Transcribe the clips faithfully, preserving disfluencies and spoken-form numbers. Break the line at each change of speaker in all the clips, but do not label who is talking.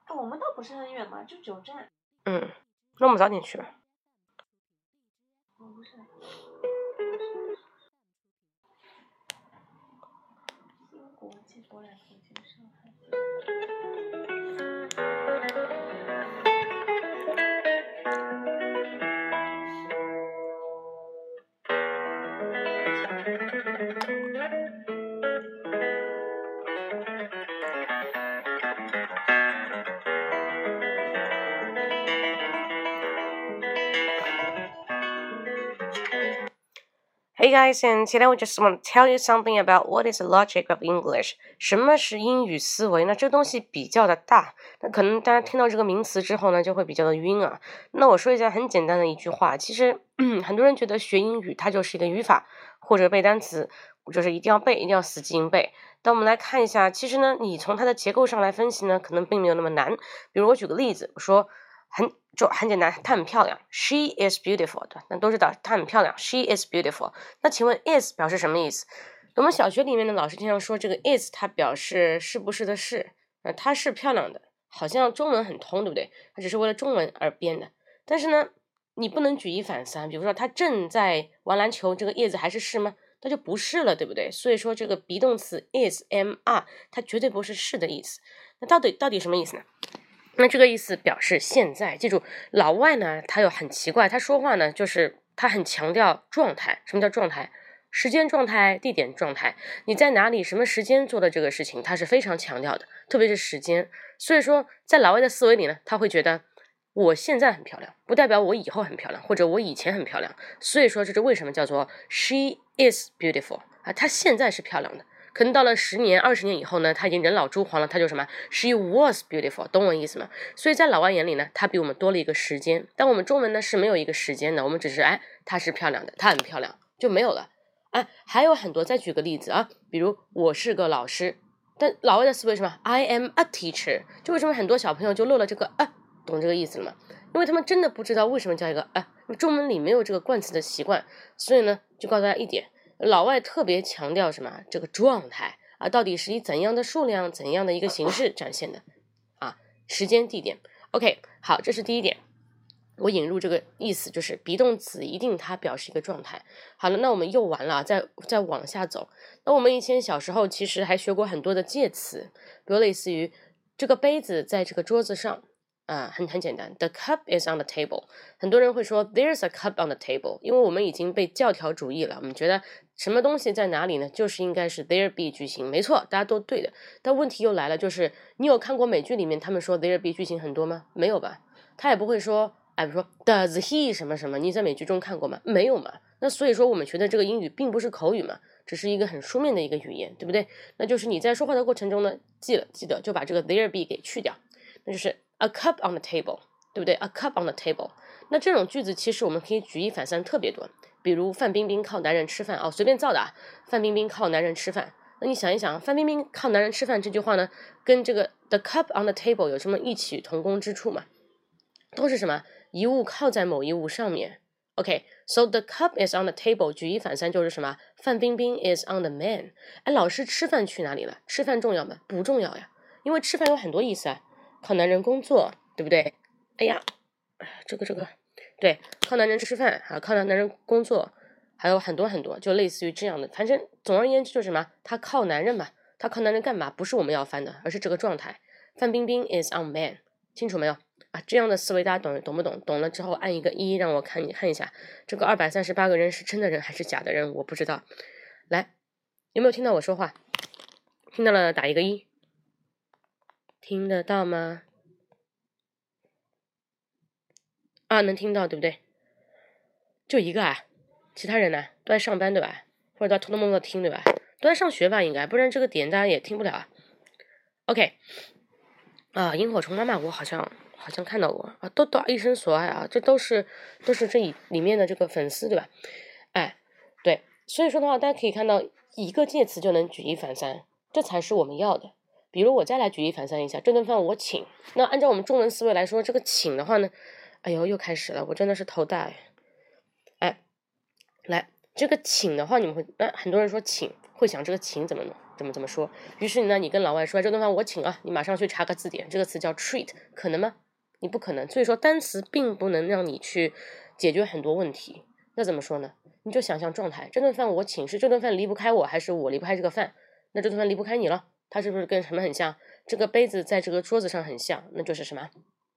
我们倒不是很远嘛，就九站。
嗯，那我们早点去吧。
哦，不是。新国际博览中心上海。
Hey guys, and today we just want to tell you something about what is the logic of English. 什么是英语思维呢？这东西比较的大，那可能大家听到这个名词之后呢，就会比较的晕啊。那我说一下很简单的一句话，其实很多人觉得学英语它就是一个语法或者背单词，就是一定要背，一定要死记硬背。但我们来看一下，其实呢，你从它的结构上来分析呢，可能并没有那么难。比如我举个例子，我说很就很简单，她很漂亮 ，She is beautiful 的，那都知道她很漂亮 ，She is beautiful。那请问 is 表示什么意思？我们小学里面的老师经常说这个 is 它表示是不是的是，呃，她是漂亮的，好像中文很通，对不对？它只是为了中文而编的。但是呢，你不能举一反三，比如说她正在玩篮球，这个 is 还是是吗？那就不是了，对不对？所以说这个 be 动词 is am are 它绝对不是是的意思。那到底到底什么意思呢？那这个意思表示现在，记住老外呢他有很奇怪，他说话呢就是他很强调状态。什么叫状态？时间状态、地点状态，你在哪里什么时间做的这个事情他是非常强调的，特别是时间。所以说在老外的思维里呢，他会觉得我现在很漂亮不代表我以后很漂亮，或者我以前很漂亮。所以说这是为什么叫做 she is beautiful 啊，她现在是漂亮的。可能到了十年、二十年以后呢，他已经人老珠黄了，他就什么 she was beautiful， 懂我意思吗？所以在老外眼里呢，他比我们多了一个时间，但我们中文呢是没有一个时间的，我们只是哎，她是漂亮的，她很漂亮就没有了。哎，还有很多，再举个例子啊，比如我是个老师，但老外的思维是什么 I am a teacher， 就为什么很多小朋友就漏了这个啊，懂这个意思了吗？因为他们真的不知道为什么叫一个啊，中文里没有这个冠词的习惯，所以呢，就告诉大家一点。老外特别强调什么？这个状态啊，到底是以怎样的数量、怎样的一个形式展现的啊？时间、地点。OK， 好，这是第一点。我引入这个意思就是 be 动词一定它表示一个状态。好了，那我们又完了，再再往下走。那我们以前小时候其实还学过很多的介词，比如类似于这个杯子在这个桌子上。啊，很很简单 ，The cup is on the table。很多人会说 There's a cup on the table， 因为我们已经被教条主义了，我们觉得什么东西在哪里呢？就是应该是 there be 句型，没错，大家都对的。但问题又来了，就是你有看过美剧里面他们说 there be 句型很多吗？没有吧？他也不会说，哎，比如说 Does he 什么什么，你在美剧中看过吗？没有嘛。那所以说我们学的这个英语并不是口语嘛，只是一个很书面的一个语言，对不对？那就是你在说话的过程中呢，记了记得就把这个 there be 给去掉，那就是。A cup on the table， 对不对 ？A cup on the table。那这种句子其实我们可以举一反三特别多，比如范冰冰靠男人吃饭哦，随便造的啊。范冰冰靠男人吃饭，那你想一想，范冰冰靠男人吃饭这句话呢，跟这个 the cup on the table 有什么异曲同工之处吗？都是什么？一物靠在某一物上面。OK，so、okay, the cup is on the table， 举一反三就是什么？范冰冰 is on the man。哎，老师吃饭去哪里了？吃饭重要吗？不重要呀，因为吃饭有很多意思啊。靠男人工作，对不对？哎呀，这个这个，对，靠男人吃饭啊，靠男人工作，还有很多很多，就类似于这样的。反正总而言之就是什么，他靠男人嘛，他靠男人干嘛？不是我们要翻的，而是这个状态。范冰冰 is on man， 清楚没有啊？这样的思维大家懂懂不懂？懂了之后按一个一，让我看看一下，这个二百三十八个人是真的人还是假的人？我不知道。来，有没有听到我说话？听到了打一个一。听得到吗？啊，能听到对不对？就一个啊，其他人呢都在上班对吧？或者都偷偷摸摸的听对吧？都在上学吧应该，不然这个点大家也听不了啊。OK， 啊，萤火虫妈妈我好像好像看到过啊，都都一生所爱啊，这都是都是这里面的这个粉丝对吧？哎，对，所以说的话，大家可以看到一个介词就能举一反三，这才是我们要的。比如我再来举一反三一下，这顿饭我请。那按照我们中文思维来说，这个请的话呢，哎呦又开始了，我真的是头大哎。哎，来， 这个请的话，你们会那很多人说请会想这个请怎么怎么怎么说，于是呢，你跟老外说这顿饭我请啊，你马上去查个字典，这个词叫 treat， 可能吗？你不可能。所以说单词并不能让你去解决很多问题。那怎么说呢？你就想象状态，这顿饭我请，是这顿饭离不开我，还是我离不开这个饭？那这顿饭离不开你了，它是不是跟什么很像？这个杯子在这个桌子上很像，那就是什么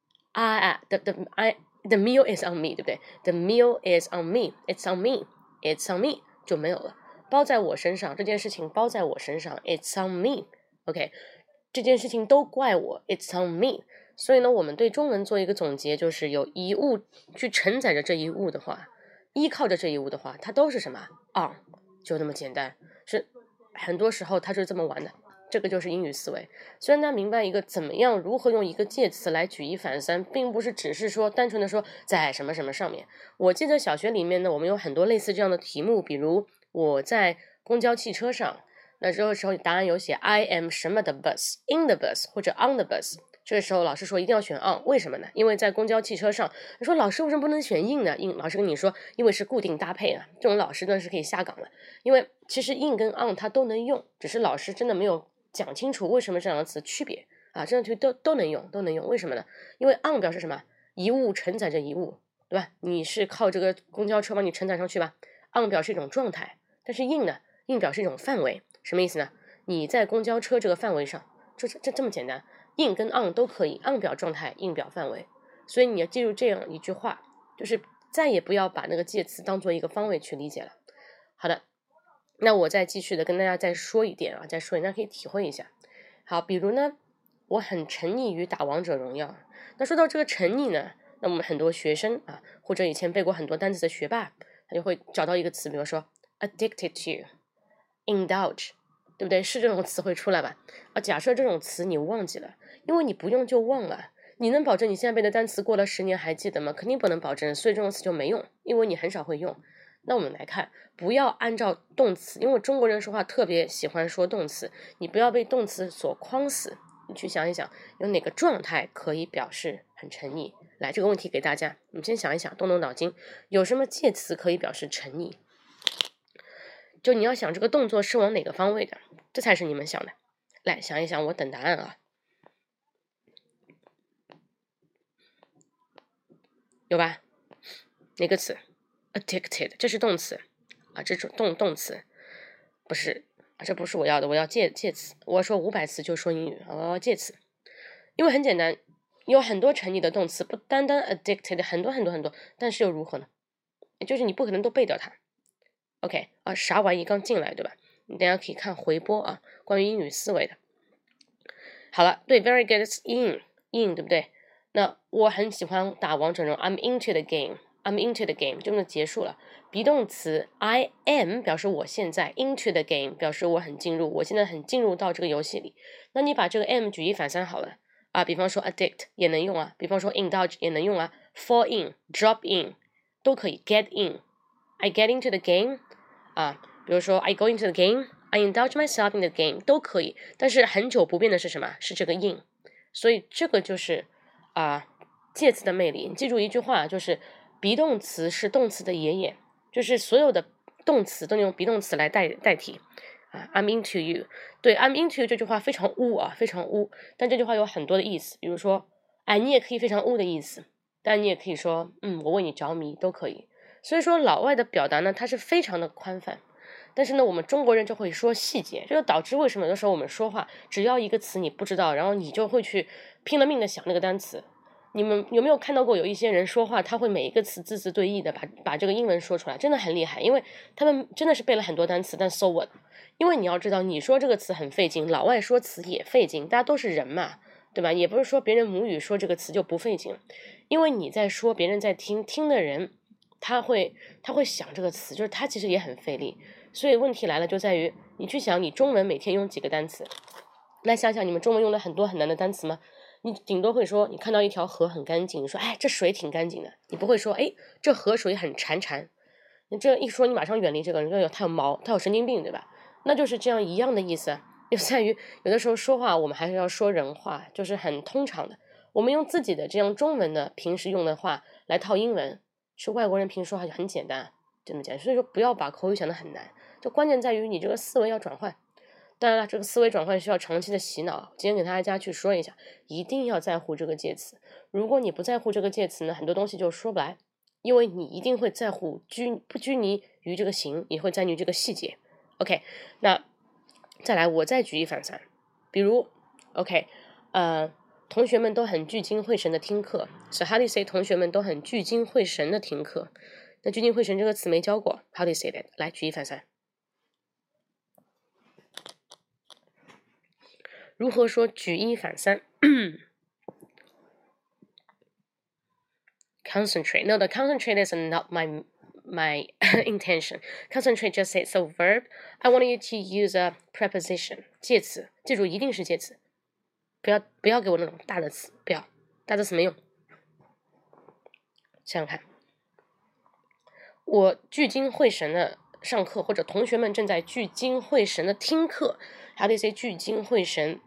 I the the I the meal is on me， 对不对？ The meal is on me， it's on me， it's on me 就没有了，包在我身上，这件事情包在我身上 it's on me， OK， 这件事情都怪我 it's on me。 所以呢，我们对中文做一个总结，就是有一物去承载着这一物的话，依靠着这一物的话，它都是什么 on， 就那么简单，是很多时候它就是这么玩的。这个就是英语思维。虽然大家明白一个怎么样如何用一个介词来举一反三，并不是只是说单纯的说在什么什么上面。我记得小学里面呢，我们有很多类似这样的题目，比如我在公交汽车上，那这个时候答案有写 I am 什么的 bus， in the bus 或者 on the bus， 这个时候老师说一定要选 on， 为什么呢？因为在公交汽车上，你说老师为什么不能选 in 呢？ in 老师跟你说因为是固定搭配啊，这种老师呢是可以下岗的。因为其实 in 跟 on 它都能用，只是老师真的没有讲清楚为什么这两个词区别啊，这两个词都都能用，都能用。为什么呢？因为 on 表示什么？一物承载着一物，对吧？你是靠这个公交车帮你承载上去吧。on 表示一种状态，但是 in 呢 ？in 表示一种范围，什么意思呢？你在公交车这个范围上，就这这么简单。in 跟 on 都可以 ，on 表状态 ，in 表范围。所以你要记住这样一句话，就是再也不要把那个介词当做一个方位去理解了。好的。那我再继续的跟大家再说一点啊，再说一点，大家可以体会一下。好，比如呢，我很沉溺于打王者荣耀。那说到这个沉溺呢，那我们很多学生啊，或者以前背过很多单词的学霸，他就会找到一个词，比如说 addicted to，indulge， 对不对？是这种词汇出来吧？啊，假设这种词你忘记了，因为你不用就忘了。你能保证你现在背的单词过了十年还记得吗？肯定不能保证，所以这种词就没用，因为你很少会用。那我们来看，不要按照动词，因为中国人说话特别喜欢说动词，你不要被动词所框死，你去想一想，有哪个状态可以表示很沉溺？来，这个问题给大家，你们先想一想，动动脑筋，有什么介词可以表示沉溺？就你要想这个动作是往哪个方位的，这才是你们想的。来想一想，我等答案啊。有吧？哪个词 ？addicted， 这是动词啊，这是动动词，不是啊，这不是我要的，我要介介词。我说五百词就说英语，我要介词，因为很简单，有很多沉溺的动词，不单单 addicted， 很多很多很多，但是又如何呢？就是你不可能都背掉它。OK 啊，啥玩意刚进来对吧？你等一下可以看回播啊，关于英语思维的。好了，对 ，very good in in 对不对？那我很喜欢打王者荣耀 ，I'm into the game，I'm into the game， 就这么结束了。be 动词 I am 表示我现在 ，into the game 表示我很进入，我现在很进入到这个游戏里。那你把这个 am 举一反三好了啊，比方说 addict 也能用啊，比方说 indulge 也能用啊 ，fall in、drop in 都可以 ，get in，I get into the game 啊，比如说 I go into the game，I indulge myself in the game 都可以。但是很久不变的是什么？是这个 in， 所以这个就是。啊，介词的魅力，你记住一句话，就是 be 动词是动词的爷爷，就是所有的动词都用 be 动词来代代替。啊 ，I'm into you， 对 ，I'm into you 这句话非常污啊，非常污，但这句话有很多的意思，比如说，哎，你也可以非常污的意思，但你也可以说，嗯，我为你着迷，都可以。所以说，老外的表达呢，它是非常的宽泛。但是呢，我们中国人就会说细节，这就导致为什么有的时候我们说话，只要一个词你不知道，然后你就会去拼了命的想那个单词。你们有没有看到过有一些人说话，他会每一个词字字对应的把把这个英文说出来，真的很厉害，因为他们真的是背了很多单词，但 so what？ 因为你要知道，你说这个词很费劲，老外说词也费劲，大家都是人嘛，对吧？也不是说别人母语说这个词就不费劲，因为你在说，别人在听，听的人他会他会想这个词，就是他其实也很费力。所以问题来了，就在于你去想，你中文每天用几个单词？来想想，你们中文用了很多很难的单词吗？你顶多会说，你看到一条河很干净，你说，哎，这水挺干净的。你不会说，哎，这河水很潺潺。你这一说，你马上远离这个人，说他有毛，他有神经病，对吧？那就是这样一样的意思，就在于有的时候说话，我们还是要说人话，就是很通常的。我们用自己的这样中文的平时用的话来套英文，是外国人平时说话就很简单。 这么讲。所以说不要把口语想得很难，就关键在于你这个思维要转换。当然了，这个思维转换需要长期的洗脑。今天给大家去说一下，一定要在乎这个介词。如果你不在乎这个介词呢，很多东西就说不来，因为你一定会在乎拘不拘泥于这个形，也会在于这个细节。OK， 那再来，我再举一反三，比如 OK， 呃，同学们都很聚精会神的听课。So how do you say 同学们都很聚精会神的听课？那聚精会神这个词没教过 ，How do you say that？ 来，举一反三。如何说举一反三？Concentrate. No, the concentrate is not my my intention. Concentrate just says a verb. I want you to use a preposition. 介词，记住一定是介词，不要不要给我那种大的词，不要大的词没用。想想看，我聚精会神的上课，或者同学们正在聚精会神的听课。How do you say 聚精会神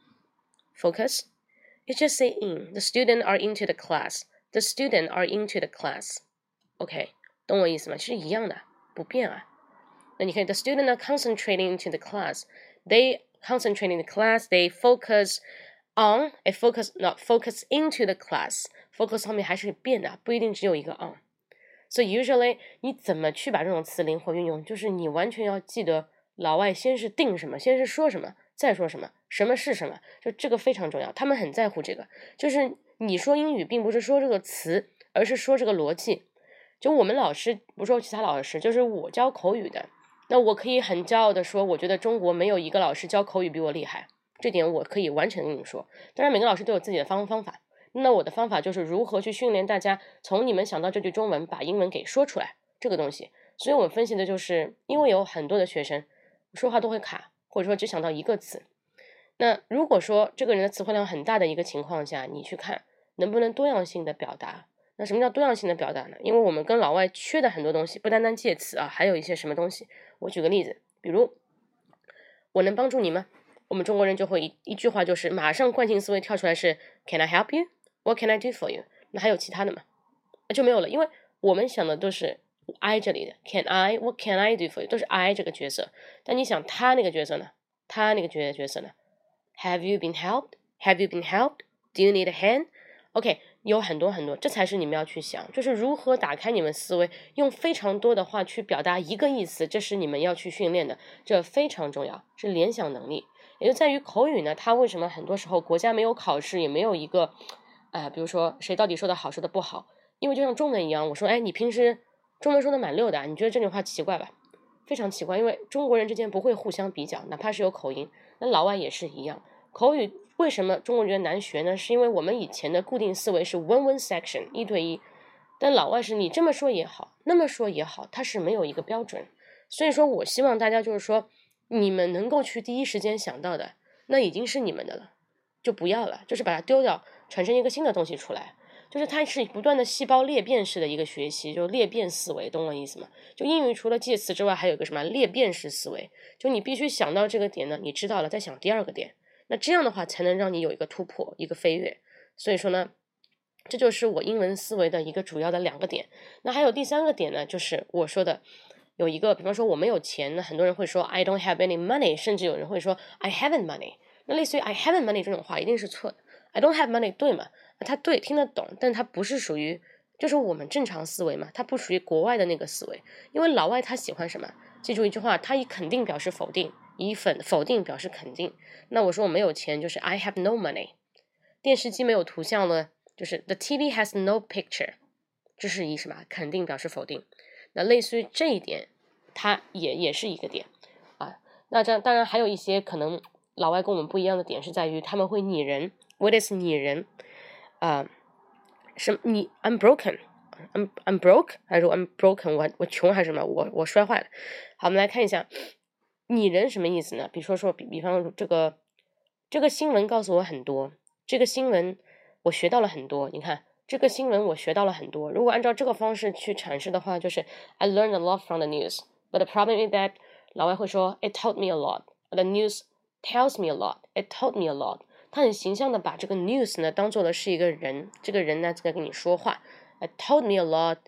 ？Focus. You just say in. The students are into the class. The students are into the class. OK， 懂我意思吗？其实一样的，不变啊。那你看 the students are concentrating into the class. They concentrate in the class. They focus on. It focus not focus into the class. Focus 后面还是变的，不一定只有一个 on. So usually 你怎么去把这种词灵活运用？就是你完全要记得老外先是定什么，先是说什么，再说什么，什么是什么，就这个非常重要。他们很在乎这个，就是你说英语并不是说这个词，而是说这个逻辑。就我们老师，不说其他老师，就是我教口语的，那我可以很骄傲的说，我觉得中国没有一个老师教口语比我厉害，这点我可以完全跟你说。当然每个老师都有自己的方方法，那我的方法就是如何去训练大家从你们想到这句中文把英文给说出来这个东西。所以我们分析的就是因为有很多的学生说话都会卡，或者说只想到一个词，那如果说这个人的词汇量很大的一个情况下，你去看能不能多样性的表达。那什么叫多样性的表达呢？因为我们跟老外缺的很多东西，不单单介词啊，还有一些什么东西。我举个例子，比如我能帮助你吗？我们中国人就会 一, 一句话就是马上惯性思维跳出来是 Can I help you? What can I do for you? 那还有其他的吗？就没有了，因为我们想的都是 I 这里的 Can I? What can I do for you? 都是 I 这个角色。但你想他那个角色呢？他那个角角色呢？ Have you been helped? Have you been helped? Do you need a hand? OK， 有很多很多，这才是你们要去想，就是如何打开你们思维，用非常多的话去表达一个意思，这是你们要去训练的，这非常重要，是联想能力。也就在于口语呢，它为什么很多时候国家没有考试，也没有一个，呃，比如说谁到底说的好，说的不好，因为就像中文一样，我说，哎，你平时中文说的蛮溜的，你觉得这句话奇怪吧？非常奇怪，因为中国人之间不会互相比较，哪怕是有口音，那老外也是一样，口语。为什么中国人难学呢？是因为我们以前的固定思维是 one one section 一对一，但老外是你这么说也好，那么说也好，它是没有一个标准。所以说我希望大家就是说，你们能够去第一时间想到的，那已经是你们的了，就不要了，就是把它丢掉，产生一个新的东西出来。就是它是不断的细胞裂变式的一个学习，就裂变思维，懂我意思吗？就英语除了介词之外，还有一个什么裂变式思维，就你必须想到这个点呢，你知道了，再想第二个点。那这样的话才能让你有一个突破，一个飞跃。所以说呢，这就是我英文思维的一个主要的两个点。那还有第三个点呢，就是我说的有一个，比方说我没有钱，那很多人会说 I don't have any money， 甚至有人会说 I haven't money。那类似于 I haven't money 这种话一定是错的。I don't have money 对吗？它对，听得懂，但它不是属于就是我们正常思维嘛，它不属于国外的那个思维。因为老外他喜欢什么？记住一句话，他以肯定表示否定，以否否定表示肯定。那我说我没有钱，就是 I have no money。电视机没有图像呢，就是 The T V has no picture。这是以什么？肯定表示否定。那类似于这一点，它也也是一个点啊。那这当然还有一些可能老外跟我们不一样的点是在于他们会拟人。What is 拟人？啊、呃，什么？你 I'm broken。I'm I'm broke 还是 I'm broken 我我穷还是什么我我摔坏了。好，我们来看一下拟人什么意思呢？比如说说比比方这个这个新闻告诉我很多，这个新闻我学到了很多。你看这个新闻我学到了很多，如果按照这个方式去阐释的话，就是 I learned a lot from the news but the problem is that 老外会说 It taught me a lot the news tells me a lot it taught me a lot。 他很形象的把这个 news 呢当做的是一个人，这个人呢在跟你说话。It told me a lot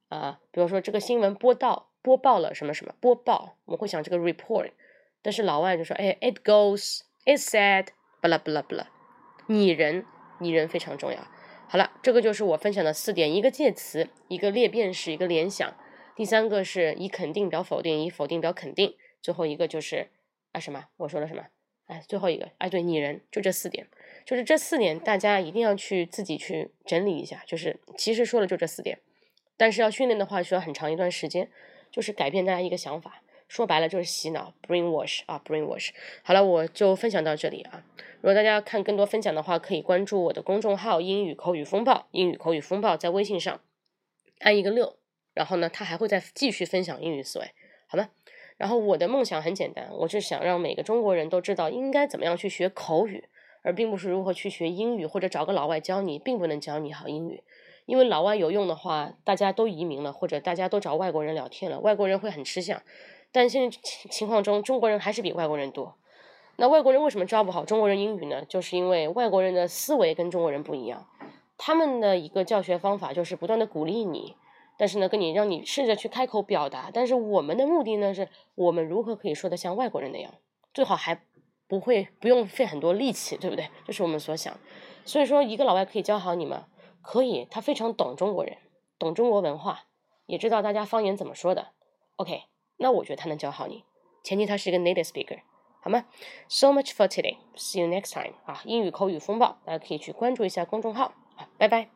啊，比如说这个新闻播到播报了什么什么播报，我们会想这个 report， 但是老外就说哎 it goes it said 巴拉巴拉巴拉，拟人拟人非常重要。好了，这个就是我分享的四点，一个介词，一个列变式，一个联想，第三个是以肯定表否定，以否定表肯定，最后一个就是啊什么我说了什么哎，最后一个哎对拟人，就这四点，就是这四点大家一定要去自己去整理一下，就是其实说了就这四点，但是要训练的话需要很长一段时间，就是改变大家一个想法，说白了就是洗脑 brainwash 啊 brainwash。 好了，我就分享到这里啊。如果大家要看更多分享的话，可以关注我的公众号英语口语风暴，英语口语风暴在微信上按一个六，然后呢他还会再继续分享英语思维，好吗？然后我的梦想很简单，我就想让每个中国人都知道应该怎么样去学口语，而并不是如何去学英语，或者找个老外教你，并不能教你好英语。因为老外有用的话，大家都移民了，或者大家都找外国人聊天了，外国人会很吃香。但现在情况中，中国人还是比外国人多。那外国人为什么教不好中国人英语呢？就是因为外国人的思维跟中国人不一样，他们的一个教学方法就是不断的鼓励你，但是呢跟你让你试着去开口表达，但是我们的目的呢是我们如何可以说得像外国人那样，最好还不会不用费很多力气，对不对？这是我们所想。所以说一个老外可以教好你吗？可以，他非常懂中国人，懂中国文化，也知道大家方言怎么说的。 OK， 那我觉得他能教好你，前提他是一个 native speaker， 好吗？ So much for today, see you next time 啊！英语口语风暴，大家可以去关注一下公众号啊，拜拜。